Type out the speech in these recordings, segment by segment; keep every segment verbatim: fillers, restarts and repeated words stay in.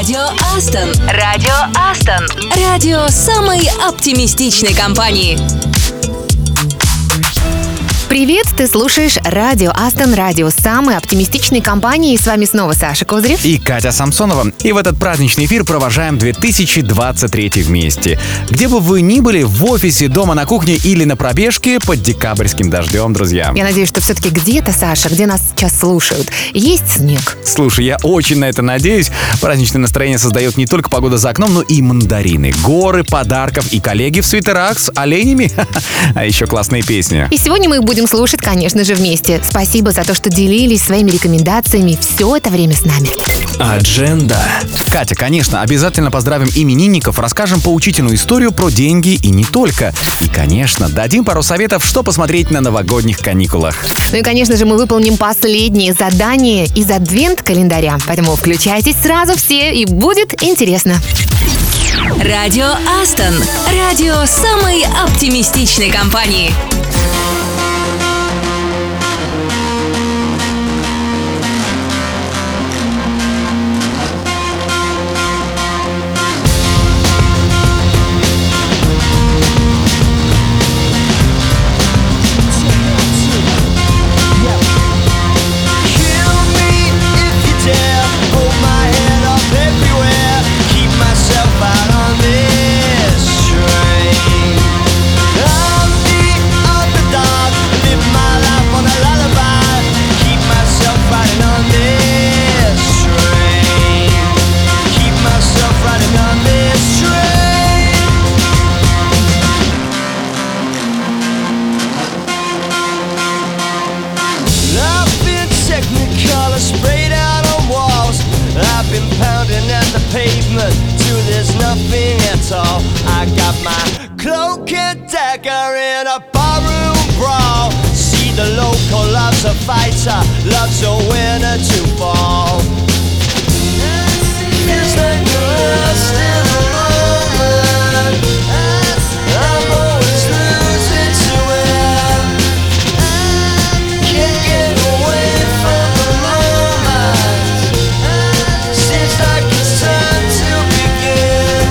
Радио Астон. Радио Астон. Радио самой оптимистичной компании. Привет, ты слушаешь Радио Астон, радио самой оптимистичной компании. И с вами снова Саша Козырев и Катя Самсонова. И в этот праздничный эфир провожаем две тысячи двадцать третий вместе. Где бы вы ни были, в офисе, дома, на кухне или на пробежке под декабрьским дождем, друзья. Я надеюсь, что все-таки где-то, Саша, где нас сейчас слушают, есть снег. Слушай, я очень на это надеюсь. Праздничное настроение создает не только погода за окном, но и мандарины, горы подарков и коллеги в свитерах с оленями. А еще классные песни. И сегодня мы их будем слушать, конечно же, вместе. Спасибо за то, что делились своими рекомендациями все это время с нами. Адженда. Катя, конечно, обязательно поздравим именинников, расскажем поучительную историю про деньги и не только. И, конечно, дадим пару советов, что посмотреть на новогодних каникулах. Ну и, конечно же, мы выполним последнее задание из адвент-календаря. Поэтому включайтесь сразу все, и будет интересно. Радио Астон. Радио самой оптимистичной компании. Love's a winner to fall. Feels like you're lost in the moment. I'm always losing to it. Can't get away from the moment. Seems like it's time to begin.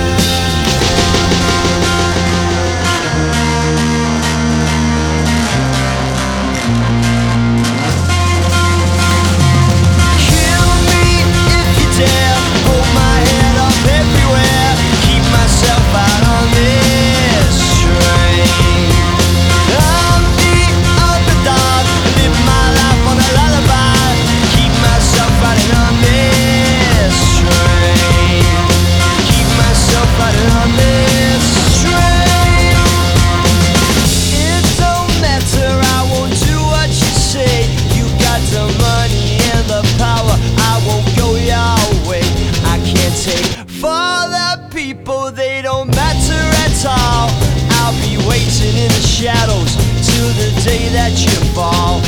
Shadows till the day that you fall.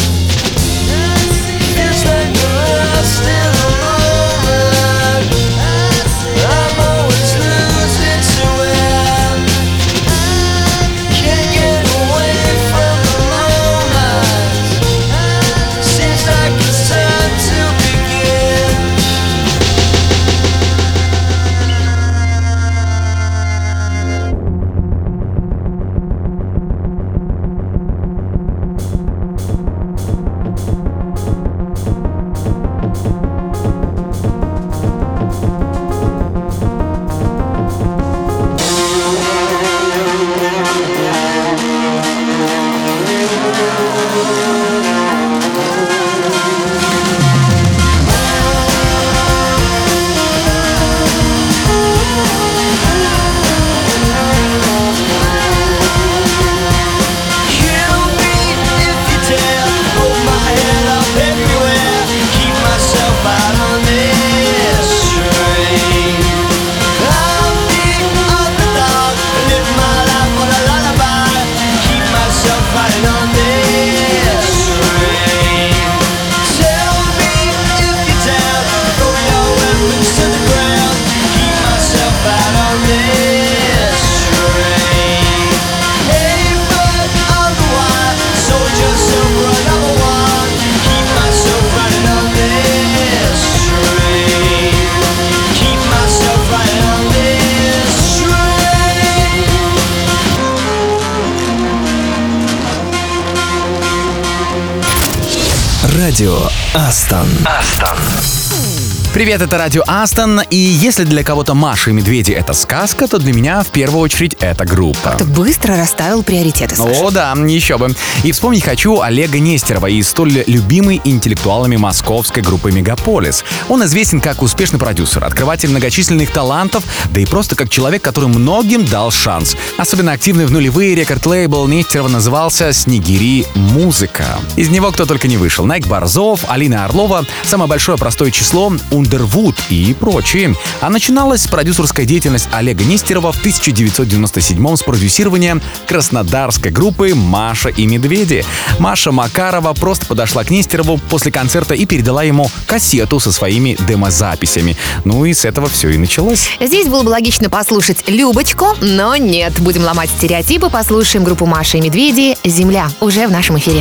Feels like you're lost in the moment. I'm always losing to it. Can't get away from the moment. Seems like it's time to begin. Радио Астон. Астон. Привет, это Радио Астон, и если для кого-то Маша и Медведи — это сказка, то для меня в первую очередь это группа. Ты быстро расставил приоритеты, Саша. О, да, еще бы. И вспомнить хочу Олега Нестерова и столь любимой интеллектуалами московской группы «Мегаполис». Он известен как успешный продюсер, открыватель многочисленных талантов, да и просто как человек, который многим дал шанс. Особенно активный в нулевые рекорд-лейбл Нестерова назывался «Снегири Музыка». Из него кто только не вышел. Найк Борзов, Алина Орлова, самое большое простое число — Underwood и прочие. А начиналась продюсерская деятельность Олега Нестерова в тысяча девятьсот девяносто седьмом с продюсирования краснодарской группы «Маша и Медведи». Маша Макарова просто подошла к Нестерову после концерта и передала ему кассету со своими демозаписями. Ну и с этого все и началось. Здесь было бы логично послушать Любочку, но нет. Будем ломать стереотипы, послушаем группу «Маша и Медведи» «Земля» уже в нашем эфире.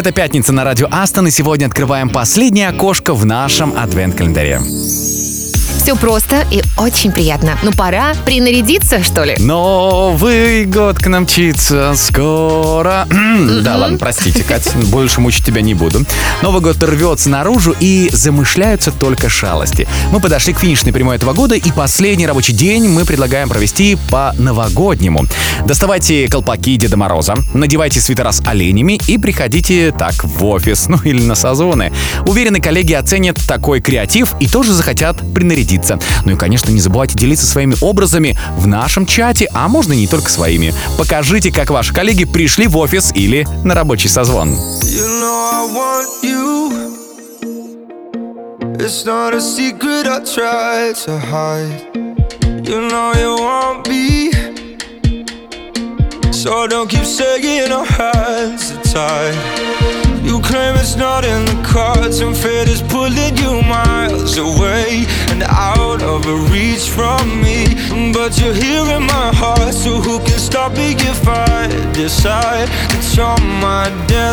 Это пятница на радио Астон, и сегодня открываем последнее окошко в нашем адвент-календаре. Все просто и очень приятно. Ну, пора принарядиться, что ли? Новый год к нам мчится скоро. Да, ладно, простите, Кать, больше мучить тебя не буду. Новый год рвется наружу, и замышляются только шалости. Мы подошли к финишной прямой этого года, и последний рабочий день мы предлагаем провести по-новогоднему. Доставайте колпаки Деда Мороза, надевайте свитера с оленями и приходите так в офис, ну или на созвоны. Уверены, коллеги оценят такой креатив и тоже захотят принарядиться. Ну и, конечно, не забывайте делиться своими образами в нашем чате, а можно не только своими. Покажите, как ваши коллеги пришли в офис или на рабочий созвон. You know I want you. It's not a secret I try to hide. You know you want me. So don't keep saying our hands are tied. You claim it's not in the cards, and fate is pulling you miles away and out of reach from me. But you're here in my heart, so who can stop me if I decide that you're my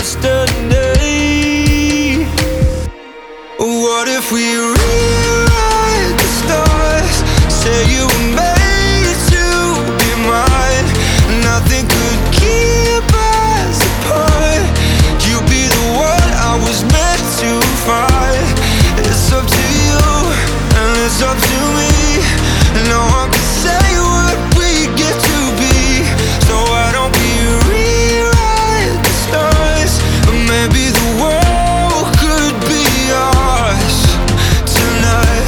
destiny? What if we rewrite the stars? Say you were made to be mine. Nothing could keep us apart. You be the one I was meant to find. It's up to you and it's up to me. No one can say what we get to be. So why don't we rewrite the stars? Or maybe the world could be ours tonight.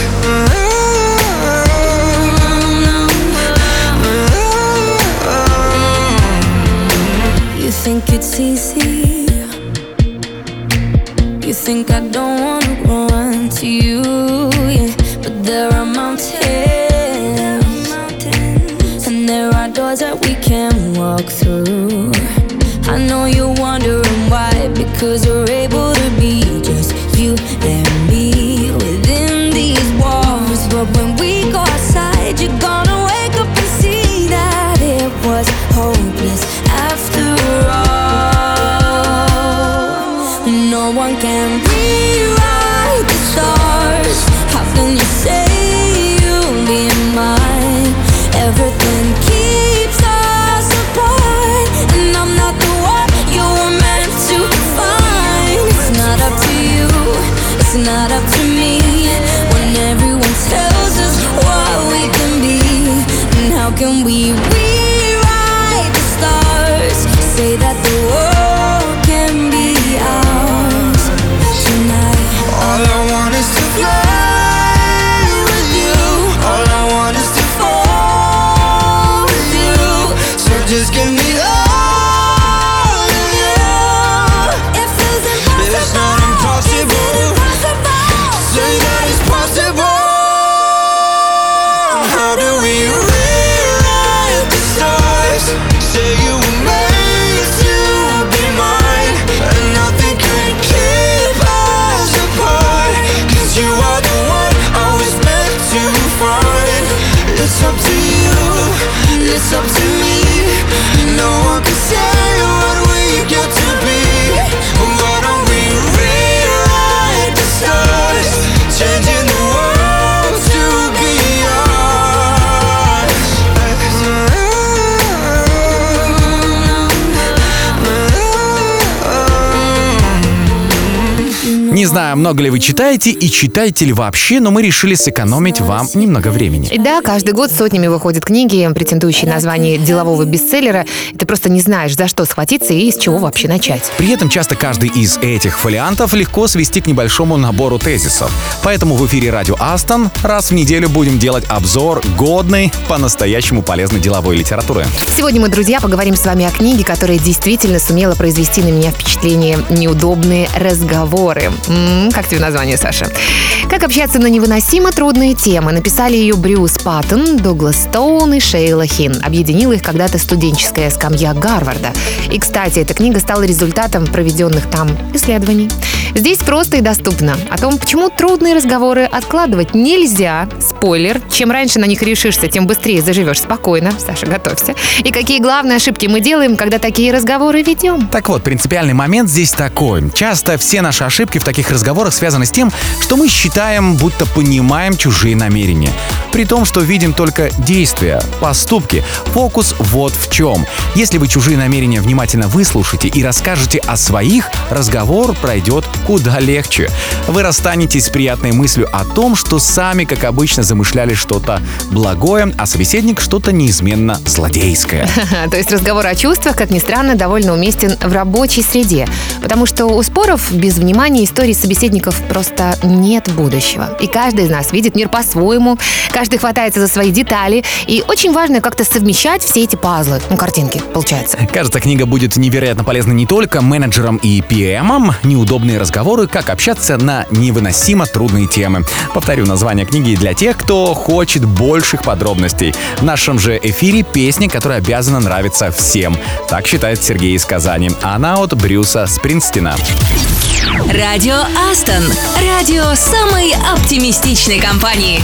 You think it's easy? You think I don't wanna run to you, yeah. But there are mountains, and there are doors that we can walk through. I know you're wondering why, because we're able to be just you and me within these walls. But when we go outside, you're gonna wake up and see that it was hopeless after all. No one can rewrite the stars. How can you say you'll be mine? Everything keeps us apart, and I'm not the one you were meant to find. It's not up to you, it's not up to me. When everyone tells us what we can be, and how can we rewrite the stars? Say that the world can be ours tonight. All I want is to fly with you. All I want is to fall with you. So just give me all of you. It feels impossible. It's not impossible. Say that it's possible. How do we rewrite the stars? Say you were made to be mine, and nothing can keep us apart. Cause you are the one I was meant to find. It's up to you, it's up to me. No one can say what we get to be. Why don't we rewrite the stars? Changing the world to be ours. Не знаю, много ли вы читаете и читаете ли вообще, но мы решили сэкономить вам немного времени. И да, каждый год сотнями выходят книги, претендующие на звание делового бестселлера. И ты просто не знаешь, за что схватиться и с чего вообще начать. При этом часто каждый из этих фолиантов легко свести к небольшому набору тезисов. Поэтому в эфире радио Астон раз в неделю будем делать обзор годной, по-настоящему полезной деловой литературы. Сегодня мы, друзья, поговорим с вами о книге, которая действительно сумела произвести на меня впечатление «Неудобные разговоры». М-м, как тебе название, Саша? Как общаться на невыносимо трудные темы. Написали ее Брюс Паттон, Дуглас Стоун и Шейла Хин. Объединила их когда-то студенческая скамья Гарварда. И, кстати, эта книга стала результатом проведенных там исследований. Здесь просто и доступно. О том, почему трудные разговоры откладывать нельзя. Спойлер. Чем раньше на них решишься, тем быстрее заживешь спокойно. Саша, готовься. И какие главные ошибки мы делаем, когда такие разговоры ведем. Так вот, принципиальный момент здесь такой. Часто все наши ошибки в таких разговорах связаны с тем, что мы считаем, будто понимаем чужие намерения. При том, что видим только действия, поступки. Фокус вот в чем. Если вы чужие намерения внимательно выслушаете и расскажете о своих, разговор пройдет куда легче. Вы расстанетесь с приятной мыслью о том, что сами, как обычно, замышляли что-то благое, а собеседник что-то неизменно злодейское. То есть разговор о чувствах, как ни странно, довольно уместен в рабочей среде. Потому что у споров без внимания истории собеседников просто нет будущего. И каждый из нас видит мир по-своему, каждый хватается за свои детали. И очень важно как-то совмещать все эти пазлы. Ну, картинки, получается. Кажется, книга будет невероятно полезна не только менеджерам и пи эм-ам. Неудобные разговоры, как общаться на невыносимо трудные темы. Повторю название книги для тех, кто хочет больших подробностей. В нашем же эфире песня, которая обязана нравиться всем. Так считает Сергей из Казани. Она от Брюса Спрингстина. Радио Астон. Радио самой оптимистичной компании.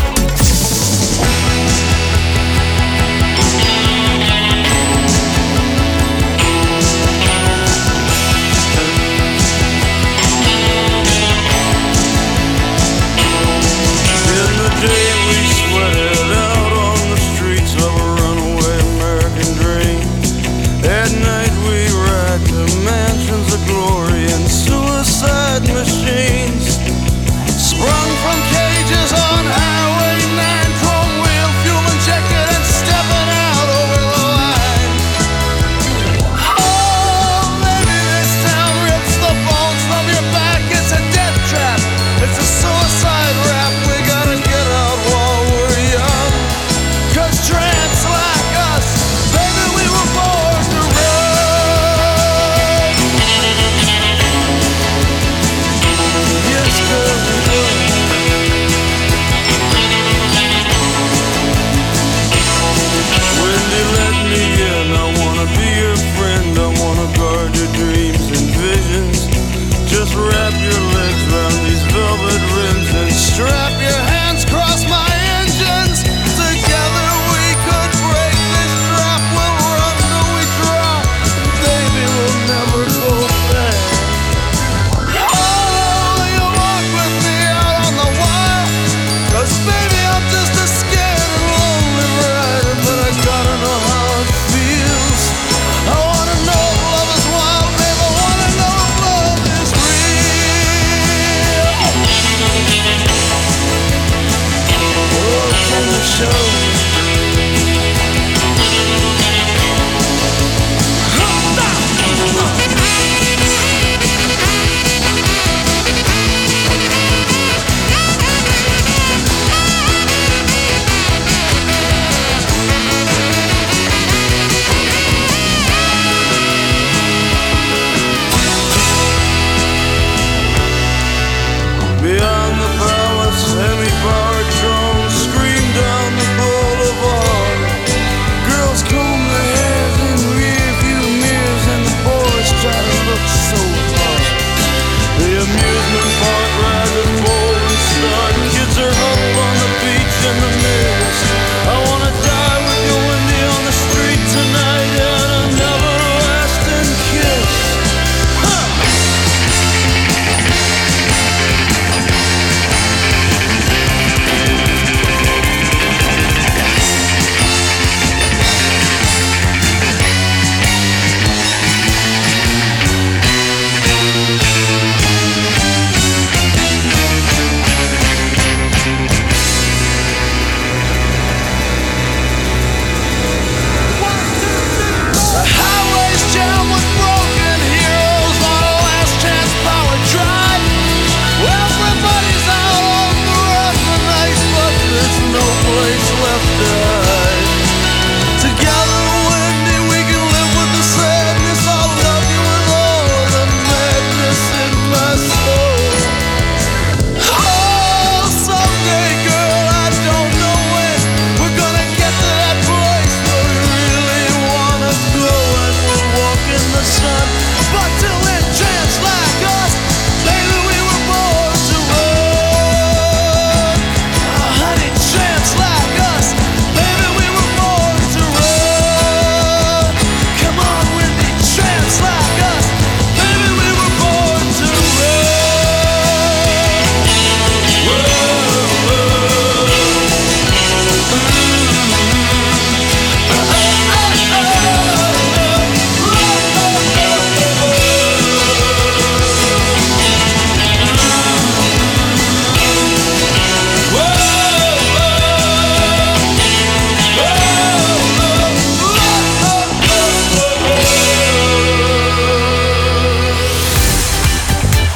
Machines sprung from cages on Highway nine.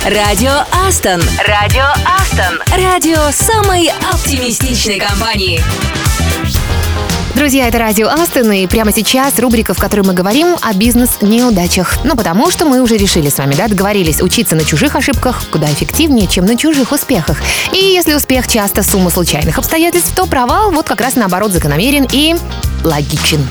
Радио Астон. Радио Астон. Радио самой оптимистичной компании. Друзья, это радио Астон, и прямо сейчас рубрика, в которой мы говорим о бизнес-неудачах. Ну, потому что мы уже решили с вами, да, договорились учиться на чужих ошибках куда эффективнее, чем на чужих успехах. И если успех часто сумма случайных обстоятельств, то провал вот как раз наоборот закономерен и логичен.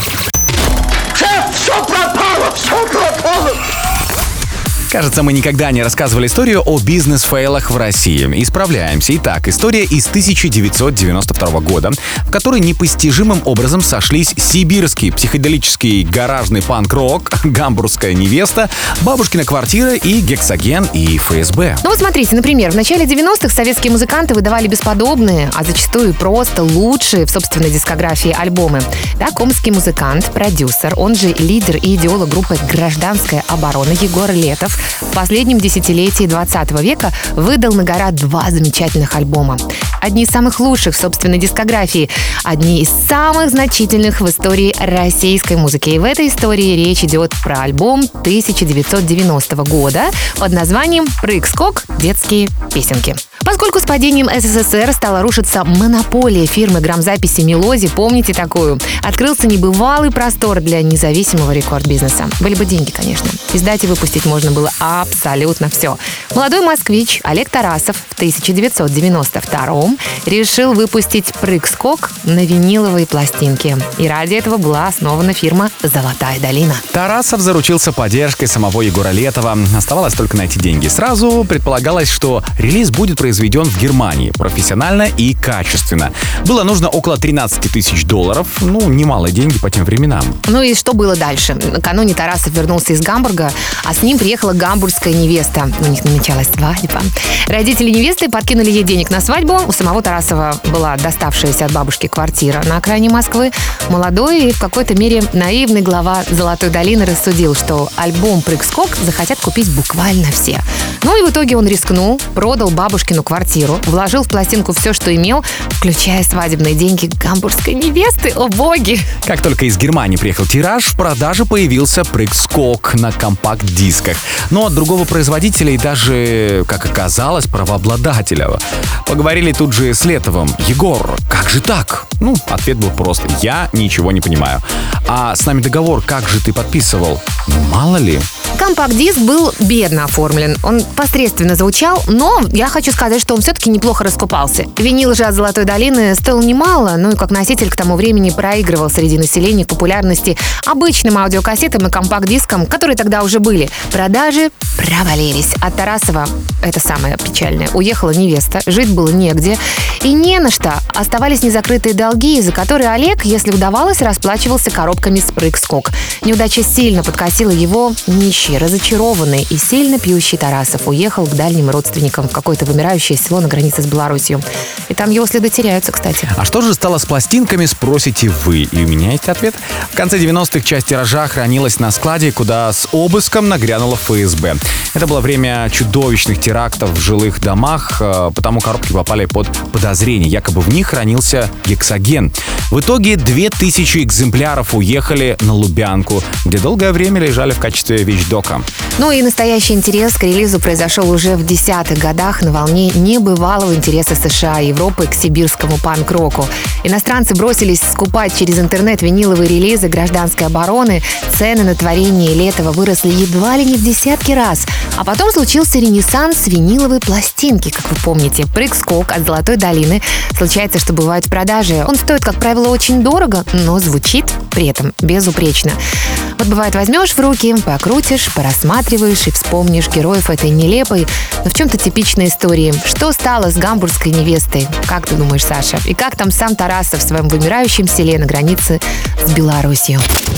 Шеф, все пропало, все пропало! Кажется, мы никогда не рассказывали историю о бизнес-фейлах в России. Исправляемся. Итак, история из тысяча девятьсот девяносто второго года, в которой непостижимым образом сошлись сибирский психоделический гаражный панк-рок, гамбургская невеста, бабушкина квартира и Гексоген и эф эс бэ. Ну вот смотрите, например, в начале девяностых советские музыканты выдавали бесподобные, а зачастую просто лучшие в собственной дискографии альбомы. Так, омский музыкант, продюсер, он же лидер и идеолог группы «Гражданская оборона» Егор Летов в последнем десятилетии двадцатого века выдал на гора два замечательных альбома. Одни из самых лучших в собственной дискографии, одни из самых значительных в истории российской музыки. И в этой истории речь идет про альбом тысяча девятьсот девяностого года под названием «Прыг-скок. Детские песенки». Поскольку с падением эс эс эс эр стала рушиться монополия фирмы грамзаписи «Мелози», помните такую, открылся небывалый простор для независимого рекорд-бизнеса. Были бы деньги, конечно. Издать и выпустить можно было абсолютно все. Молодой москвич Олег Тарасов в тысяча девятьсот девяносто втором решил выпустить «Прыг-скок» на виниловые пластинки. И ради этого была основана фирма «Золотая долина». Тарасов заручился поддержкой самого Егора Летова. Оставалось только найти деньги. Сразу предполагалось, что релиз будет произведен в Германии профессионально и качественно. Было нужно около тринадцать тысяч долларов. Ну, немалые деньги по тем временам. Ну и что было дальше? Накануне Тарасов вернулся из Гамбурга, а с ним приехала гамбургская невеста. У них намечалась свадьба. Родители невесты подкинули ей денег на свадьбу. У самого Тарасова была доставшаяся от бабушки квартира на окраине Москвы. Молодой и в какой-то мере наивный глава «Золотой долины» рассудил, что альбом «Прыг-скок» захотят купить буквально все. Ну и в итоге он рискнул, продал бабушкину квартиру, вложил в пластинку все, что имел, включая свадебные деньги гамбургской невесты. О боги! Как только из Германии приехал тираж, в продаже появился «Прыг-скок» на компакт-дисках. Но от другого производителя и даже, как оказалось, правообладателя. Поговорили тут же с Летовым. «Егор, как же так?» Ну, ответ был прост. «Я ничего не понимаю». «А с нами договор как же ты подписывал?» «Ну, мало ли». Компакт-диск был бедно оформлен. Он посредственно звучал, но я хочу сказать, что он все-таки неплохо раскупался. Винил же от «Золотой долины» стоил немало, ну и как носитель к тому времени проигрывал среди населения популярности обычным аудиокассетам и компакт-дискам, которые тогда уже были. Продажи провалились. От Тарасова, это самое печальное, уехала невеста, жить было негде и не на что. Оставались незакрытые долги, за которые Олег, если удавалось, расплачивался коробками с «Прыг-скок». Неудача сильно подкосила его. Нищий, разочарованный и сильно пьющий Тарасов уехал к дальним родственникам в какое-то вымирающее село на границе с Беларусью. И там его следы теряются, кстати. А что же стало с пластинками, спросите вы? И у меня есть ответ. В конце девяностых часть тиража хранилась на складе, куда с обыском нагрянула эф эс бэ. Это было время чудовищных терактов в жилых домах, потому коробки попали под подозрение. Якобы в них хранился гексоген. В итоге две тысячи экземпляров уехали на Лубянку, где долгое время лежали в качестве вещдока. Ну и настоящий интерес к релизу произошел уже в десятых годах на волне небывалого интереса США и Европы к сибирскому панк-року. Иностранцы бросились скупать через интернет виниловые релизы «Гражданской обороны». Цены на творение Летова выросли едва ли не в десятки раз. А потом случился ренессанс виниловой пластинки, как вы помните. «Прыг-скок» от «Золотой долины». Случается, что бывает в продаже. Он стоит, как правило, очень дорого, но звучит при этом безупречно. Вот бывает, возьмешь в руки, покрутишь, порассматриваешь и вспомнишь героев этой нелепой, но в чем-то типичной истории. Что стало с гамбургской невестой? Как ты думаешь, Саша? И как там сам Тарасов в своем вымирающем селе на границе с Беларусью?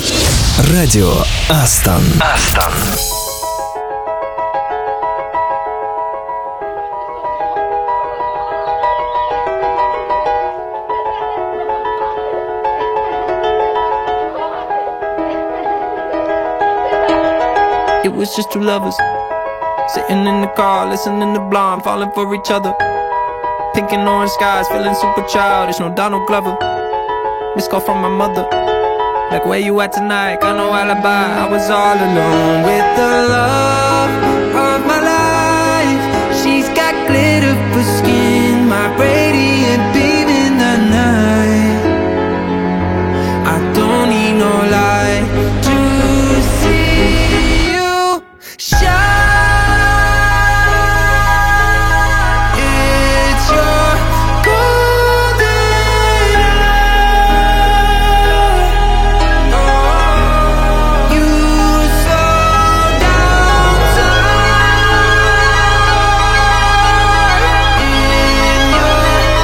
Радио Астон. Астон. It was just two lovers sitting in the car, listening to Blonde, falling for each other. Pink and orange skies, feeling super childish. No Donald Glover. Missed call from my mother. Like, where you at tonight? Got no alibi. I was all alone with the love of my life. radiant beam in the night. I don't need no light to see you shine. It's your golden hour. Oh, you slow down time in your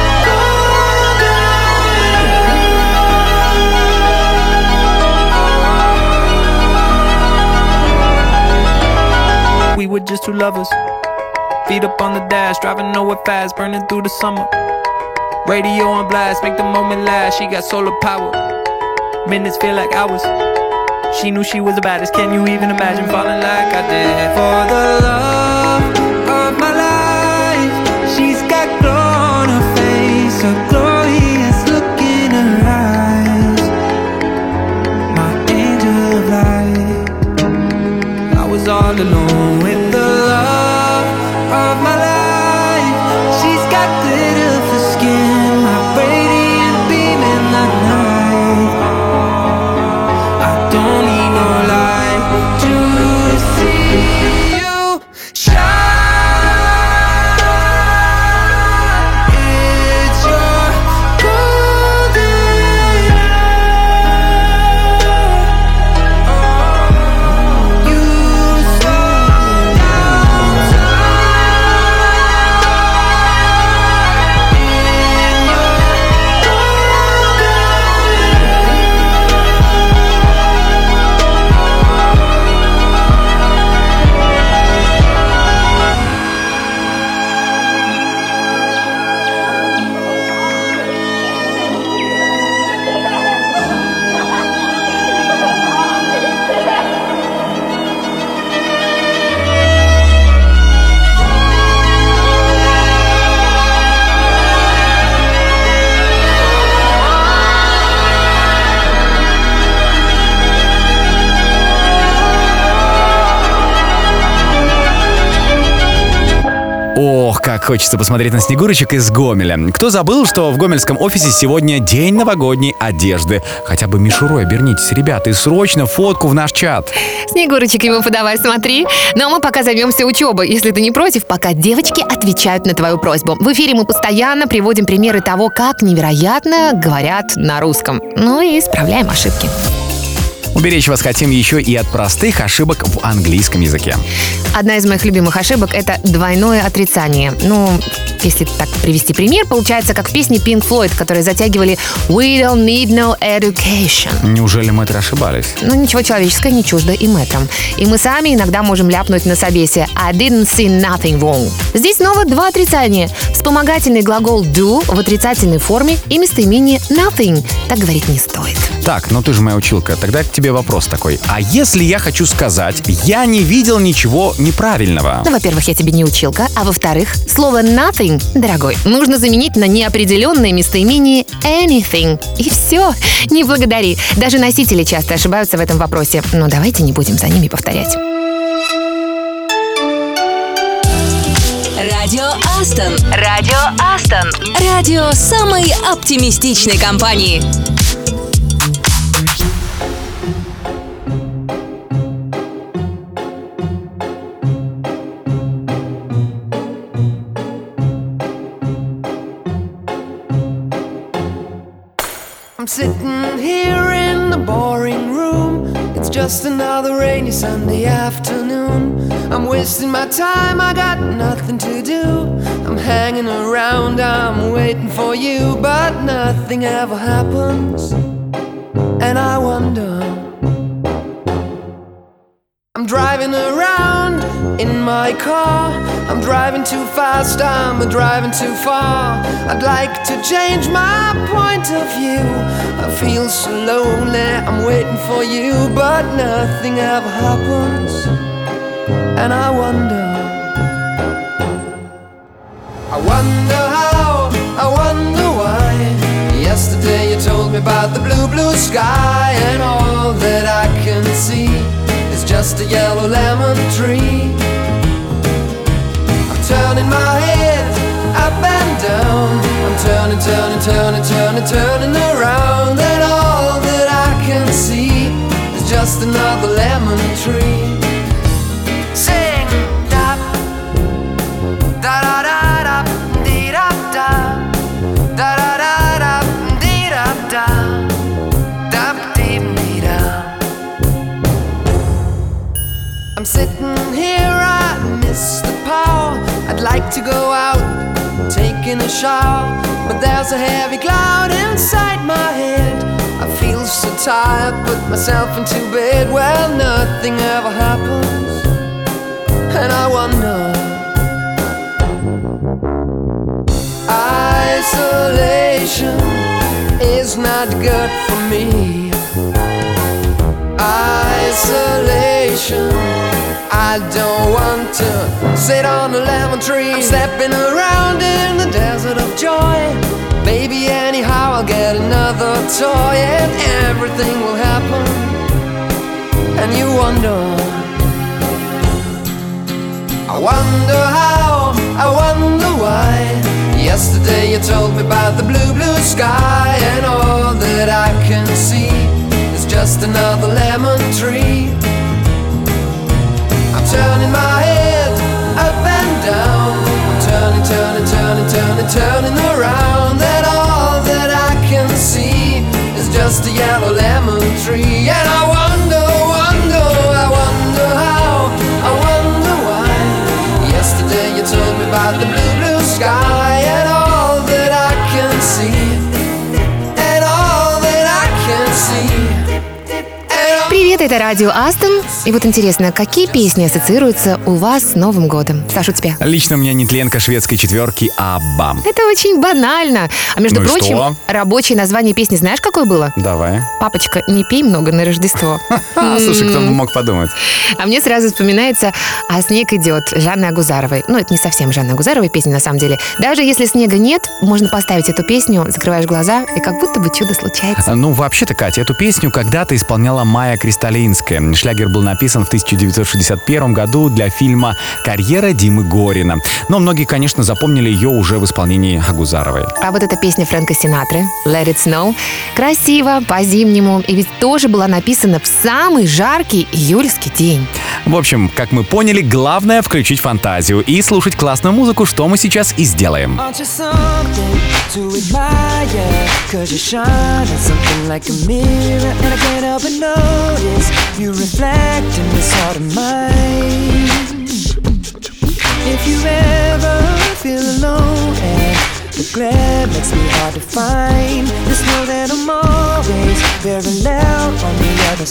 golden. We were just two lovers, feet up on the dash, driving nowhere fast, burning through the summer. Radio on blast, make the moment last. She got solar power, minutes feel like hours. She knew she was the baddest. Can you even imagine falling like I did? For the love of my life, she's got glow on her face, a glorious look in her eyes. My angel of light. I was all alone with the love of my life. She's got glitter for skin, my radiant beam in the night. I don't need no light to see you shine. It's your golden hour. Oh, you slow down time in your Ох, как хочется посмотреть на Снегурочек из Гомеля. Кто забыл, что в гомельском офисе сегодня день новогодней одежды? Хотя бы мишурой обернитесь, ребята, и срочно фотку в наш чат. Снегурочек ему подавай, смотри. Ну а мы пока займемся учебой, если ты не против, пока девочки отвечают на твою просьбу. В эфире мы постоянно приводим примеры того, как невероятно говорят на русском. Ну и исправляем ошибки. Уберечь вас хотим еще и от простых ошибок в английском языке. Одна из моих любимых ошибок — это двойное отрицание. Ну, если так привести пример, получается, как в песне Pink Floyd, которые затягивали «We don't need no education». Неужели мэтры ошибались? Ну, ничего человеческого не чуждо и мэтрам. И мы сами иногда можем ляпнуть на собесе «I didn't see nothing wrong». Здесь снова два отрицания. Вспомогательный глагол do в отрицательной форме и местоимение nothing. Так говорить не стоит. Так, ну ты же моя училка, тогда к тебе вопрос такой. А если я хочу сказать, я не видел ничего неправильного? Ну, во-первых, я тебе не училка, а во-вторых, слово nothing, дорогой, нужно заменить на неопределенное местоимение anything. И все, не благодари. Даже носители часто ошибаются в этом вопросе, но давайте не будем за ними повторять. Радио Астон. Радио Астон. Радио самой оптимистичной компании. I'm sitting here in the boring room. It's just another rainy Sunday afternoon. I'm wasting my time, I got nothing to do. I'm hanging around, I'm waiting for you, but nothing ever happens. And I wonder, I'm driving around in my car. I'm driving too fast, I'm driving too far. I'd like to change my point of view. I feel so lonely, I'm waiting for you, but nothing ever happens. And I wonder, I wonder how, I wonder why. Yesterday you told me about the blue, blue sky, and all that I can see is just a yellow lemon tree. Turning my head up and down. I'm turning, turning, turning, turning, turning around, and all that I can see is just another lemon tree. Sing da da da da da dee da da da da da da dee da da da dee dee da. I'm sitting here, I miss the power. I'd like to go out, taking a shower, but there's a heavy cloud inside my head. I feel so tired, put myself into bed. Well, nothing ever happens, and I wonder. Isolation is not good for me. Isolation, I don't want to sit on a lemon tree. I'm stepping around in the desert of joy. Baby, anyhow I'll get another toy, and everything will happen. And you wonder, I wonder how, I wonder why. Yesterday you told me about the blue, blue sky, and all that I can see is just another lemon tree. I'm turning my head up and down. I'm turning, turning, turning, turning, turning around, and all that I can see is just a yellow lemon tree. And I wonder, wonder, I wonder how, I wonder why. Yesterday you told me about the blue, blue sky, and all that I can see, and all that I can see. Привет, это радио Астон. И вот интересно, какие песни ассоциируются у вас с Новым годом? Саша, у тебя? Лично у меня нетленка шведской четверки Абба. Это очень банально. А между Ну и прочим, что? рабочее название песни знаешь, какое было? Давай. «Папочка, не пей много на Рождество». Слушай, кто бы мог подумать. А мне сразу вспоминается «А снег идет» Жанны Агузаровой. Ну, это не совсем Жанны Агузаровой песня на самом деле. Даже если снега нет, можно поставить эту песню, закрываешь глаза, и как будто бы чудо случается. Ну, вообще-то, Катя, эту песню когда-то исполняла Майя Кристалинская. Шлягер был написан в тысяча девятьсот шестьдесят первом году для фильма «Карьера Димы Горина». Но многие, конечно, запомнили ее уже в исполнении Агузаровой. А вот эта песня Фрэнка Синатры «Let It Snow» красиво, по-зимнему, и ведь тоже была написана в самый жаркий июльский день. В общем, как мы поняли, главное включить фантазию и слушать классную музыку, что мы сейчас и сделаем. Aren't you something to admire? Cause you shine at something like a mirror, and I can't help but notice you reflect in this heart of mine. If you ever feel alone and the glare makes me hard to find, just know that I'm always parallel on the other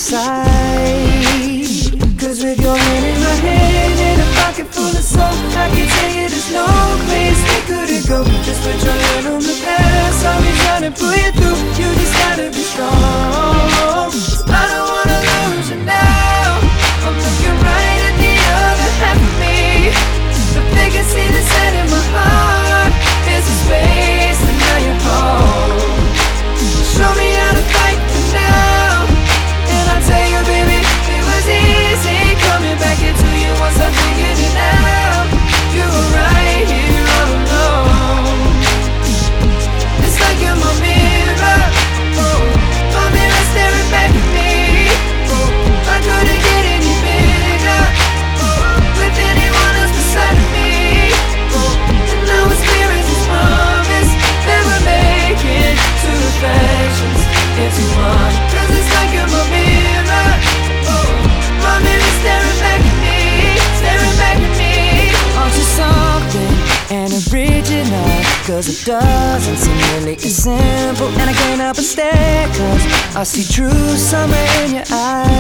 side. Cause with your hand in my hand and a pocket full of soul, I can tell you there's no place we couldn't go. Just put your hand on the past, I'll be trying to pull you through. You just gotta be strong. I don't wanna lose you now. I'm looking right at the other half of me. The vacancy that's set in my heart is a space, and now you're home. Show me how to fight for now, and I'll tell you, baby, it was easy coming back into you once I figured it out. You were right here all alone. It's like you're my mirror, oh, my mirror staring back at me. Oh, I couldn't get any bigger, oh, with anyone else beside of me. Oh, and now it's clear as this promise that we're making two reflections into one. Cause it's like you're my mirror, oh, my mirror staring back at me, staring back at me. Aren't you something and original? Cause it doesn't seem really as simple, and I can't help but stare, cause I see true summer in your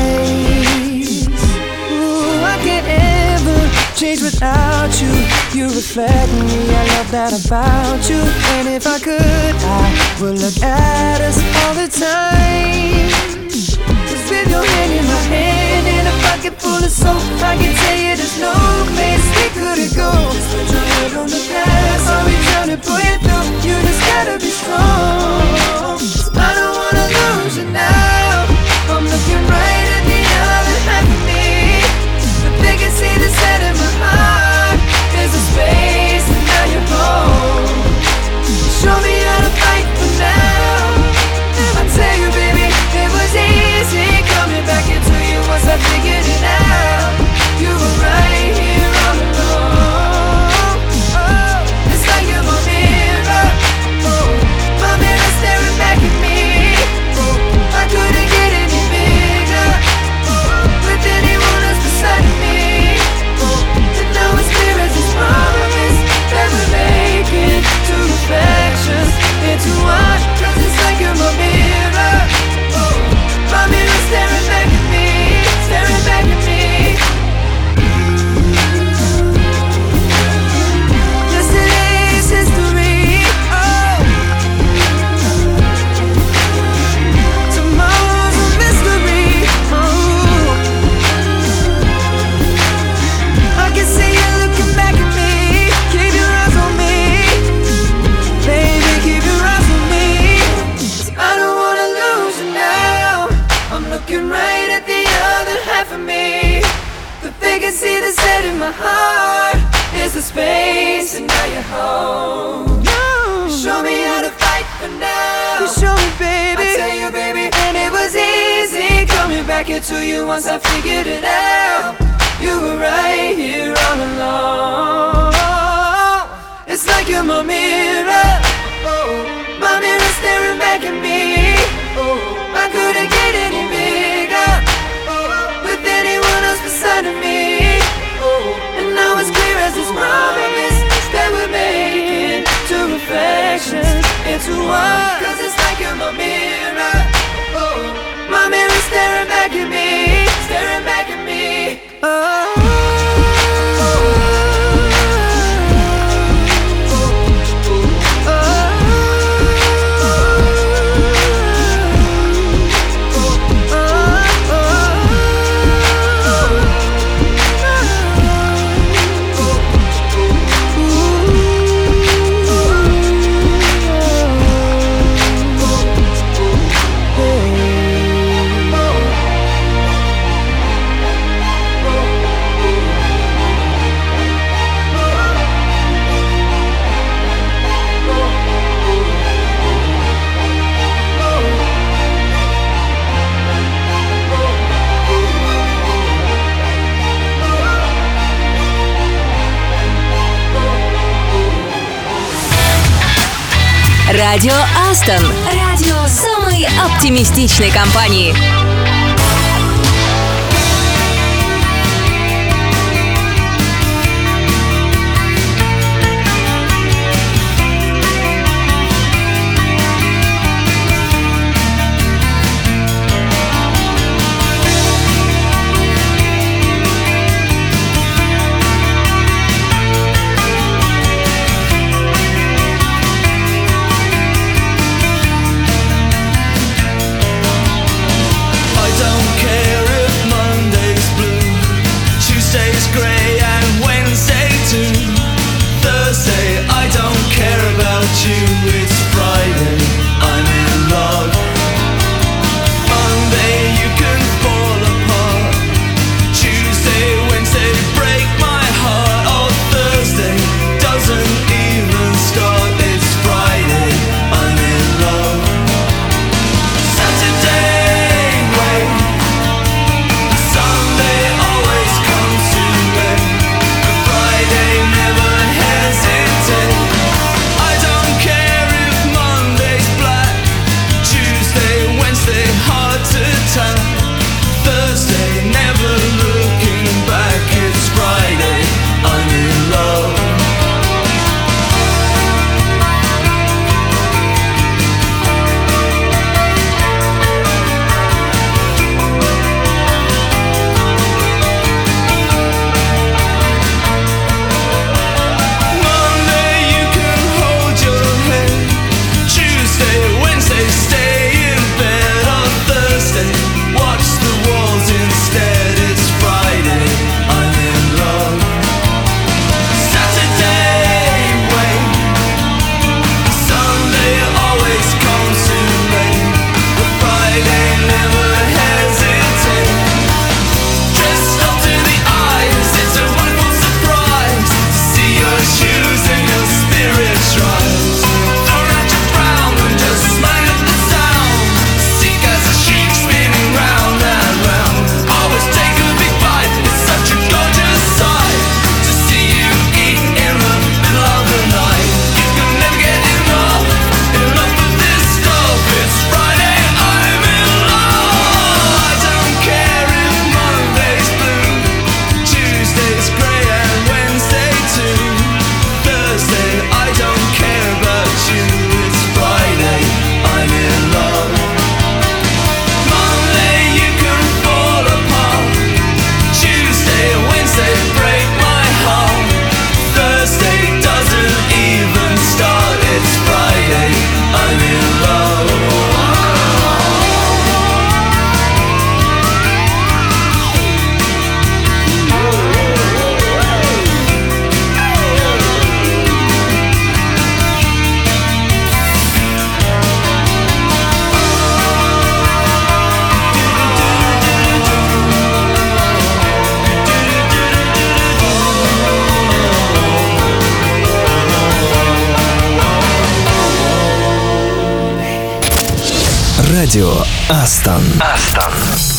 eyes. Ooh, I can't ever change without you. You reflect me, I love that about you. And if I could, I would look at us all the time. Just with your hand in my hand and a pocket full of soap, I can tell you there's no place we couldn't go. Just put your head on the past, I'll be trying to pull you through. You just gotta be strong. I don't wanna lose you now. I'm looking right at the other half of me. The vacancy that's set in my heart is a space, and now you're home. my heart is the space, and now you're home. You show me how to fight for now. You show me, baby. I tell you, baby, and it was easy coming back into you once I figured it out. You were right here all along. It's like you're my mirror, oh, my mirror staring back at me. Oh, I couldn't get any bigger, oh, with anyone else beside of me. Oh, and now it's clear as this promise that we're making two reflections into one. Cause it's like you're my mirror, oh, my mirror staring back at me, staring back at me. Oh. Радио Астон. Радио самой оптимистичной компании. Радио Астон. Астон.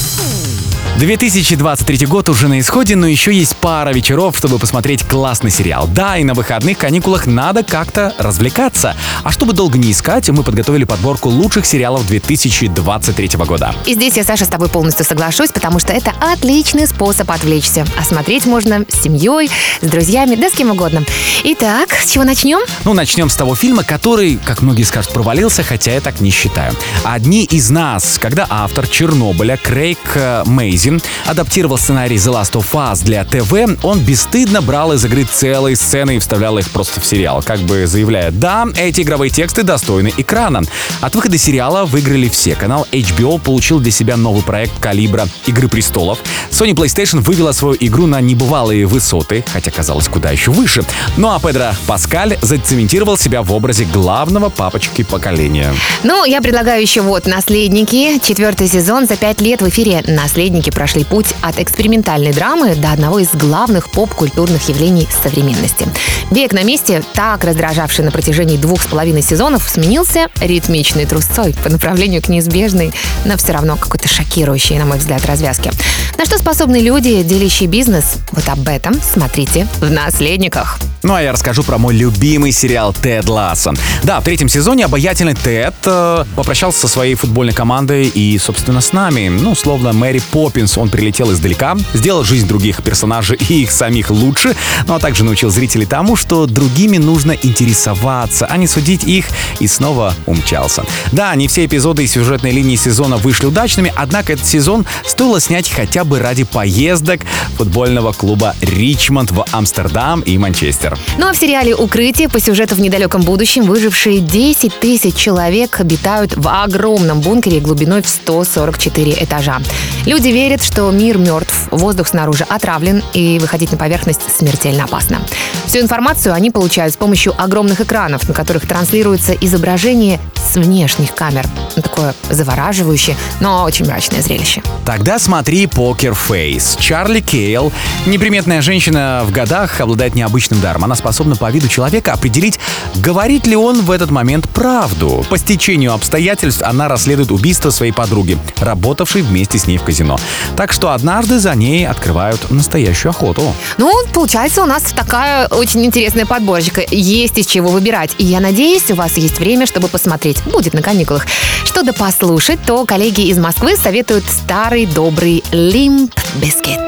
две тысячи двадцать третий год уже на исходе, но еще есть пара вечеров, чтобы посмотреть классный сериал. Да, и на выходных каникулах надо как-то развлекаться. А чтобы долго не искать, мы подготовили подборку лучших сериалов две тысячи двадцать третьего года. И здесь я, Саша, с тобой полностью соглашусь, потому что это отличный способ отвлечься. А смотреть можно с семьей, с друзьями, да с кем угодно. Итак, с чего начнем? Ну, начнем с того фильма, который, как многие скажут, провалился, хотя я так не считаю. «Одни из нас», когда автор «Чернобыля» Крейг Мейзин адаптировал сценарий The Last of Us для ТВ, он бесстыдно брал из игры целые сцены и вставлял их просто в сериал, как бы заявляя: да, эти игровые тексты достойны экрана. От выхода сериала выиграли все. Канал эйч би о получил для себя новый проект калибра «Игры престолов». Sony PlayStation вывела свою игру на небывалые высоты, хотя казалось куда еще выше. Ну а Педро Паскаль зацементировал себя в образе главного папочки поколения. Ну, я предлагаю еще вот «Наследники». Четвертый сезон. За пять лет в эфире «Наследники» прошли путь от экспериментальной драмы до одного из главных поп-культурных явлений современности. Бег на месте, так раздражавший на протяжении двух с половиной сезонов, сменился ритмичной трусцой по направлению к неизбежной, но все равно какой-то шокирующей, на мой взгляд, развязке. На что способны люди, делящие бизнес? Вот об этом смотрите в «Наследниках». Ну а я расскажу про мой любимый сериал «Тед Лассо». Да, в третьем сезоне обаятельный Тед э, попрощался со своей футбольной командой и, собственно, с нами. Ну, словно Мэри Поппинс, он прилетел издалека, сделал жизнь других персонажей и их самих лучше, ну а также научил зрителей тому, что другими нужно интересоваться, а не судить их, и снова умчался. Да, не все эпизоды и сюжетные линии сезона вышли удачными, однако этот сезон стоило снять хотя бы ради поездок футбольного клуба «Ричмонд» в Амстердам и Манчестер. Ну а в сериале «Укрытие» по сюжету в недалеком будущем выжившие десять тысяч человек обитают в огромном бункере глубиной в сто сорок четыре этажа. Люди верят, что мир мертв, воздух снаружи отравлен и выходить на поверхность смертельно опасно. Всю информацию они получают с помощью огромных экранов, на которых транслируется изображение с внешних камер. Такое завораживающее, но очень мрачное зрелище. Тогда смотри «Покер Фейс». Чарли Кейл, неприметная женщина в годах, обладает необычным даром. Она способна по виду человека определить, говорит ли он в этот момент правду. По стечению обстоятельств она расследует убийство своей подруги, работавшей вместе с ней в казино. Так что однажды за ней открывают настоящую охоту. Ну, получается, у нас такая очень интересная подборочка. Есть из чего выбирать. И я надеюсь, у вас есть время, чтобы посмотреть. Будет на каникулах. Что до послушать, то коллеги из Москвы советуют старый добрый Limp Bizkit.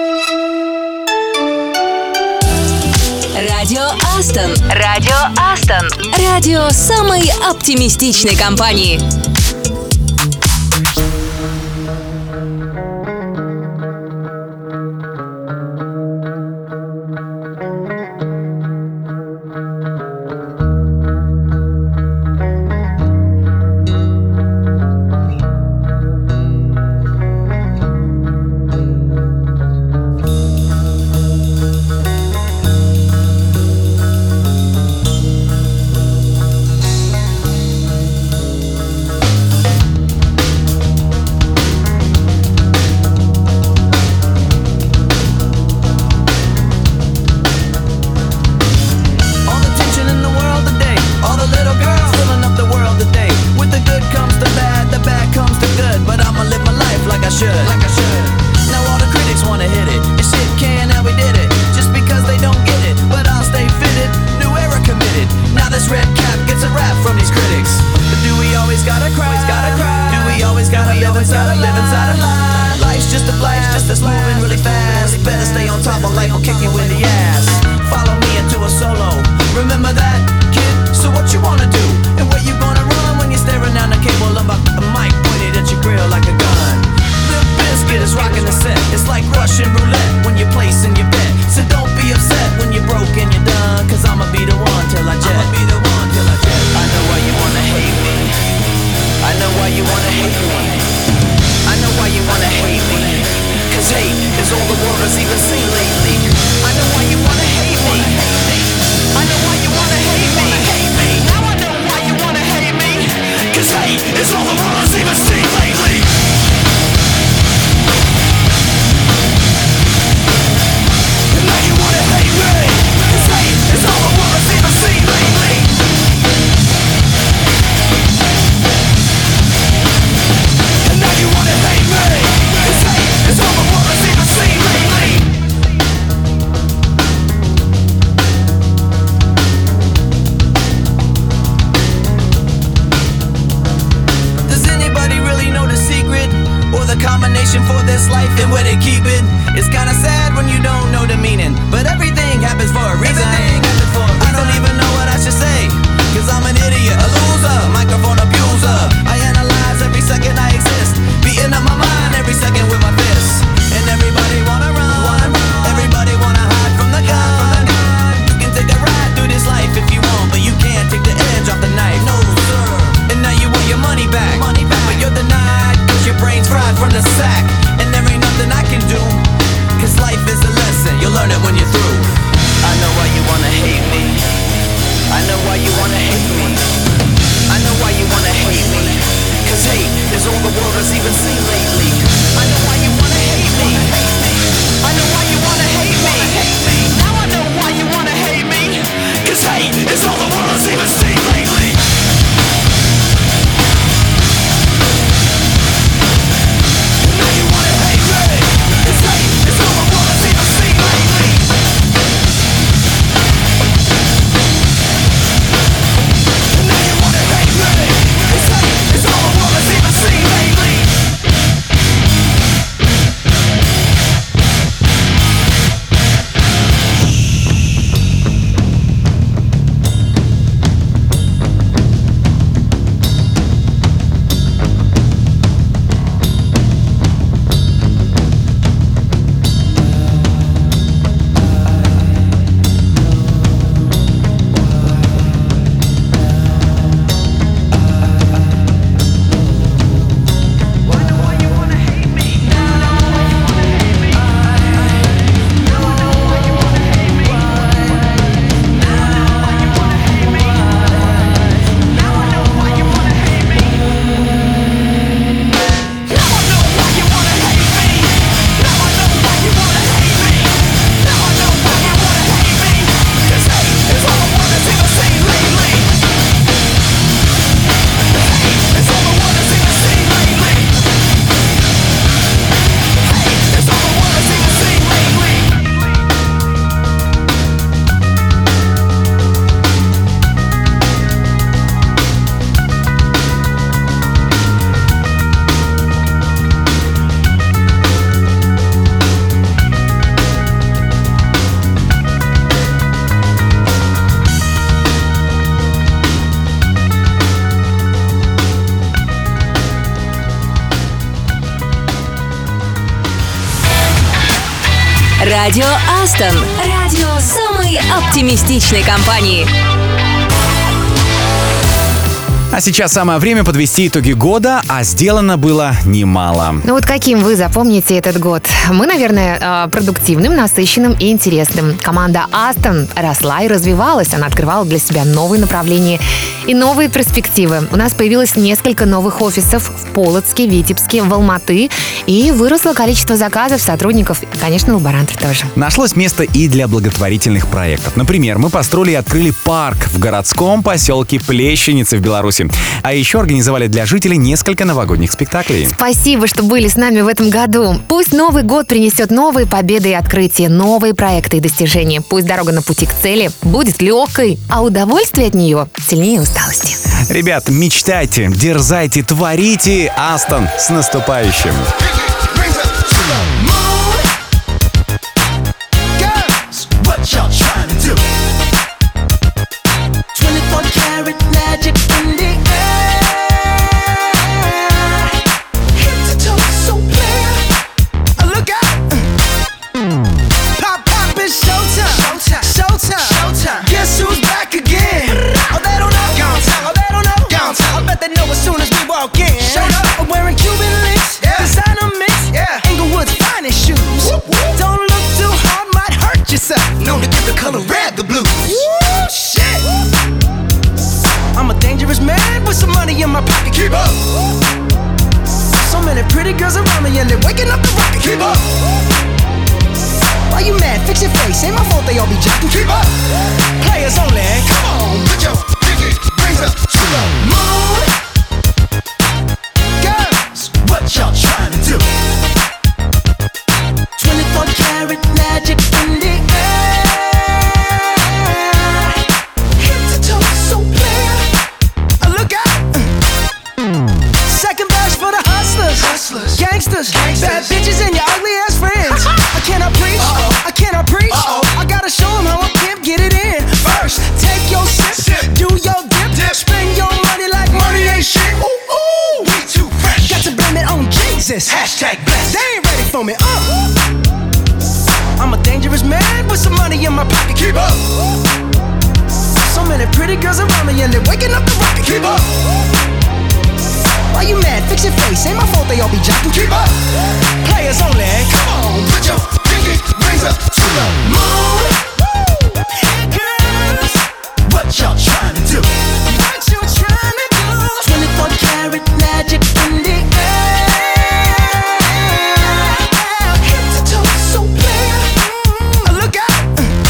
Радио Астон. Радио Астон. Радио самой оптимистичной компании. It's all the world's even seen. combination for this life and where they keep it. It's kinda sad when you don't know the meaning, but everything happens for a reason. I don't even know what I should say, cause I'm an idiot, a loser, microphone abuser. I analyze every second I exist, beating up my mind every second with my fists. And everybody wanna run, everybody wanna hide from the gun. You can take a ride through this life if you want, but you can't take the edge off the knife. No sir. And now you want your money back, money back. But you're denied, cause your brain's fried from the sack. And there ain't nothing I can do, cause life is a lesson, you'll learn it when you're through. I know why you wanna hate me, I know why you wanna hate me, I know why you wanna hate me, cause hate is all the world has even seen lately. I know why you wanna hate me, I know why you wanna hate me, now I know why you wanna hate me, cause hate is all the world has even seen lately. Now you wanna hate me, cause hate is all the world has even seen lately. Now you wanna hate me, cause hate is all the world has even seen lately. Радио Астон. Радио самой оптимистичной компании. А сейчас самое время подвести итоги года, а сделано было немало. Ну вот каким вы запомните этот год? Мы, наверное, продуктивным, насыщенным и интересным. Команда Астон росла и развивалась. Она открывала для себя новые направления и новые перспективы. У нас появилось несколько новых офисов в Полоцке, Витебске, в Алматы. И выросло количество заказов, сотрудников и, конечно, лаборантов тоже. Нашлось место и для благотворительных проектов. Например, мы построили и открыли парк в городском поселке Плещеницы в Беларуси. А еще организовали для жителей несколько новогодних спектаклей. Спасибо, что были с нами в этом году. Пусть Новый год принесет новые победы и открытия, новые проекты и достижения. Пусть дорога на пути к цели будет легкой, а удовольствие от нее сильнее усталости. Ребят, мечтайте, дерзайте, творите. Астон, с наступающим! Gangsters, gangsters, bad bitches and your ugly ass friends. I cannot preach, I cannot preach. I gotta show them how a pimp get it in. First, take your sip, do your dip, spend your money like money ain't shit. Ooh, ooh, we too fresh. Got to blame it on Jesus. Hashtag blessed. They ain't ready for me. Uh. I'm a dangerous man with some money in my pocket. Keep up. So many pretty girls around me and they're waking up the rocket. Keep up. Why you mad? Fix your face. Ain't my fault they all be jocking. Keep up. Players only. Come on, put your pinky rings up to the moon. Hey girls, what y'all trying to do? What you trying to do? twenty-four karat magic in the air. Head to toe, so clear. Look out.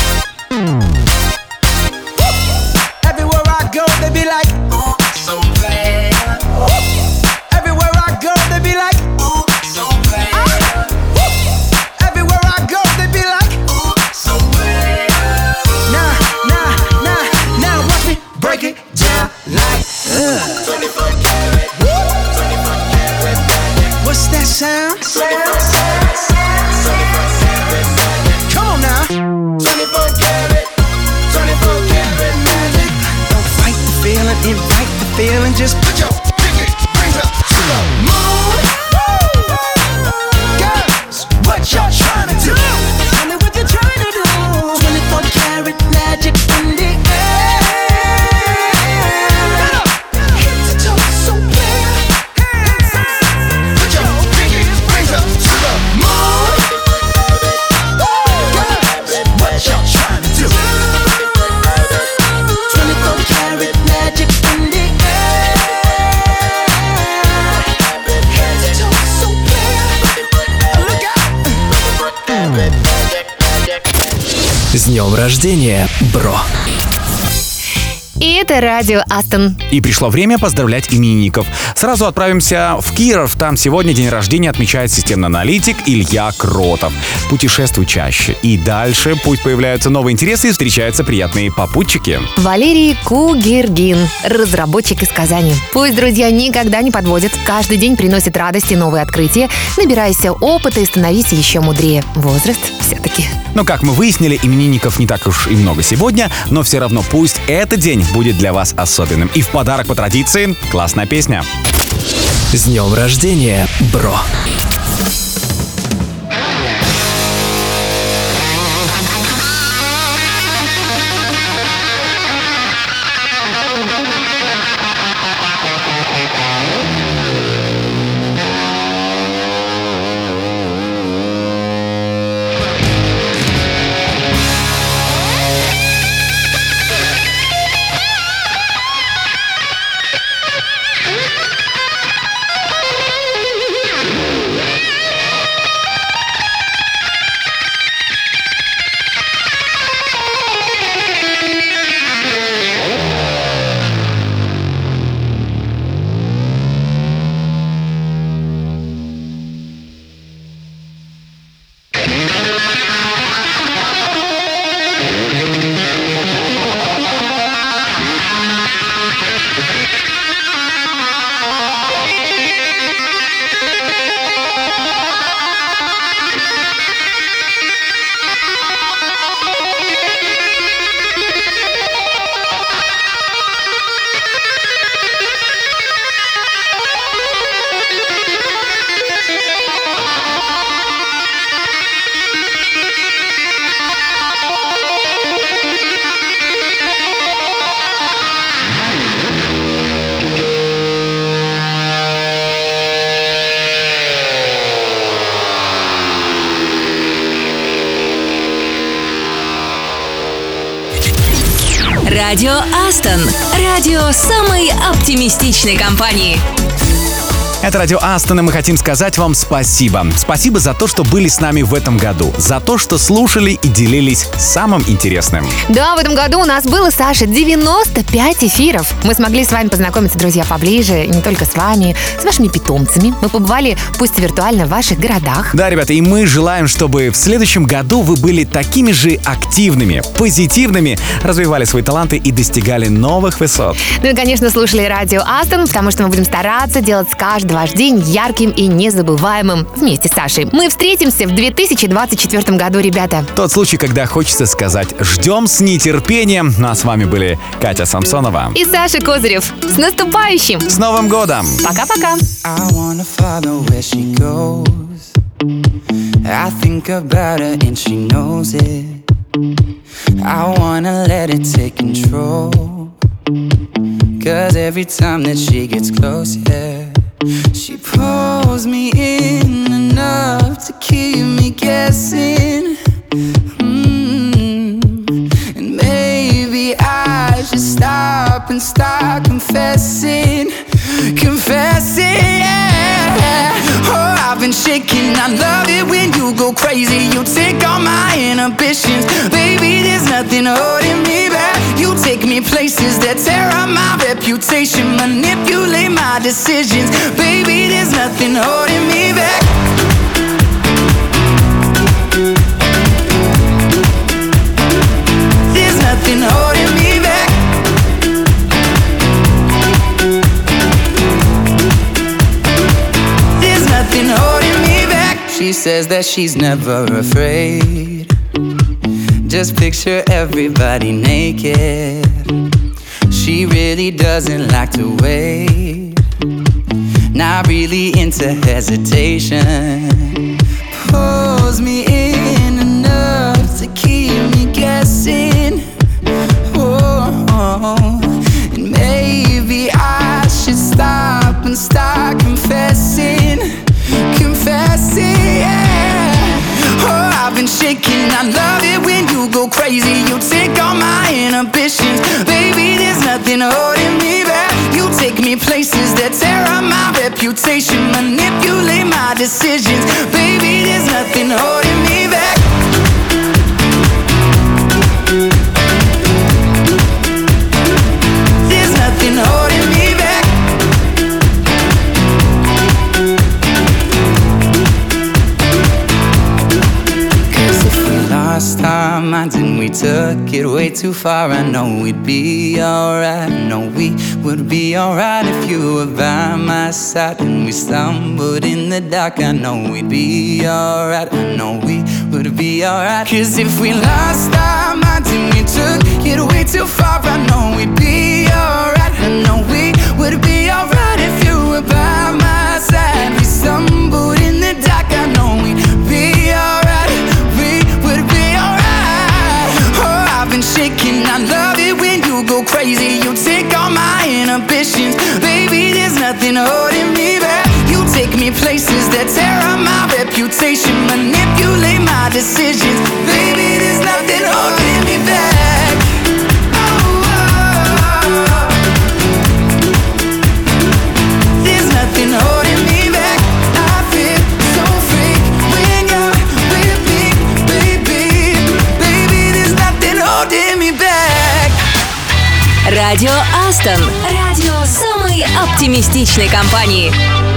Everywhere I go, they be like, oh, so bad. Everywhere I go, they be like, oh, so bad. Everywhere I go, they be like, oh, so bad. Nah, nah, nah, now watch me break it down like uh. twenty-four karat, twenty-four karat magic. What's that sound? twenty-four karat, twenty-four karat magic. Come on now. twenty-four karat, twenty-four karat magic. Don't fight the feeling, invite the feeling. Just put your pinky rings up to the moon. Girls, what y'all trying to do? Tell me what you're trying to do. twenty-four karat magic in the air. Head to toe, so clear. Put your pinky rings up to the moon. Girls, what y'all trying to do? twenty-four karat magic in the air. Head to toe, so clear. Look out. С днем рождения, бро! И это радио Астон. И пришло время поздравлять именинников. Сразу отправимся в Киров. Там сегодня день рождения отмечает системный аналитик Илья Кротов. Путешествуй чаще. И дальше пусть появляются новые интересы и встречаются приятные попутчики. Валерий Кугергин, разработчик из Казани. Пусть друзья никогда не подводят. Каждый день приносит радость и новые открытия. Набирайся опыта и становись еще мудрее. Возраст все-таки. Но, как мы выяснили, именинников не так уж и много сегодня, но все равно пусть этот день будет для вас особенным. И в подарок по традиции классная песня. С днем рождения, бро! Радио Астон. Радио самой оптимистичной компании. Это радио Астон, и мы хотим сказать вам спасибо. Спасибо за то, что были с нами в этом году. За то, что слушали и делились самым интересным. Да, в этом году у нас было, Саша, девяносто пять эфиров. Мы смогли с вами познакомиться, друзья, поближе. И не только с вами, с вашими питомцами. Мы побывали, пусть виртуально, в ваших городах. Да, ребята, и мы желаем, чтобы в следующем году вы были такими же активными, позитивными, развивали свои таланты и достигали новых высот. Ну и, конечно, слушали радио Астон, потому что мы будем стараться делать с каждым ваш день ярким и незабываемым вместе с Сашей. Мы встретимся в две тысячи двадцать четвёртом году, ребята. Тот случай, когда хочется сказать «ждем с нетерпением». Ну а с вами были Катя Самсонова и Саша Козырев. С наступающим! С Новым годом! Пока-пока! I think about her and she knows it. I wanna let it take control. Cause every time that she gets close, yeah, she pulls me in enough to keep me guessing. mm. And maybe I should stop and start confessing. Confessing, yeah. Oh, I've been shaking. I love it when you go crazy. You take all my inhibitions. Baby, there's nothing holding me back. You take me places that tear up my reputation. Manipulate my decisions. Baby, there's nothing holding me back. There's nothing holding me back. There's nothing holding me back. She says that she's never afraid. Just picture everybody naked. She really doesn't like to wait. Not really into hesitation. Pulls me in enough to keep me guessing. Oh, and maybe I should stop and start confessing. Confessing, yeah. Oh, I've been shaking. I love it when you go crazy. You take all my inhibitions. Baby, there's nothing holding me back. You take me places that tear up my reputation. Manipulate my decisions. Baby, there's nothing holding me back. There's nothing holding me back. Lost our minds and we took it way too far. I know we'd be alright. I know we would be alright if you were by my side. And we stumbled in the dark. I know we'd be alright. I know we would be alright. Cause if we lost our minds and we took it way too far, I know we'd be alright. I know we would be alright if you were by my side. We stumbled in the dark. I know we'd be alright. I've been shaking. I love it when you go crazy. You take all my inhibitions. Baby, there's nothing holding me back. You take me places that tear up my reputation. Manipulate my decisions. Baby, there's nothing holding me back. Oh, oh, oh. There's nothing holding me back. I feel so free when you're with me, baby. Baby, there's nothing holding me back. Радио Астон. Радио самой оптимистичной компании.